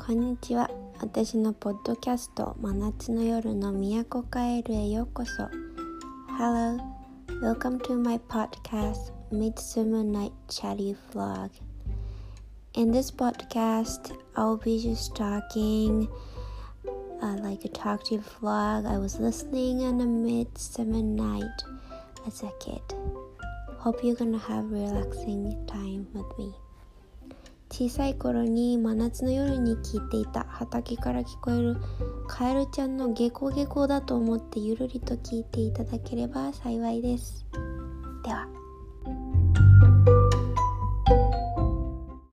こんにちは。私のポッドキャスト真夏の夜の都カエルへようこそ。 Hello, welcome to my podcast Midsummer Night Chatty Vlog. In this podcast, I'll be just talking like a talkative vlog I was listening on a midsummer night as a kid. Hope you're gonna have relaxing time with me. 小さい頃に真夏の夜に聞いていた畑から聞こえるカエルちゃんのゲコゲコだと思ってゆるりと聞いていただければ幸いです。では。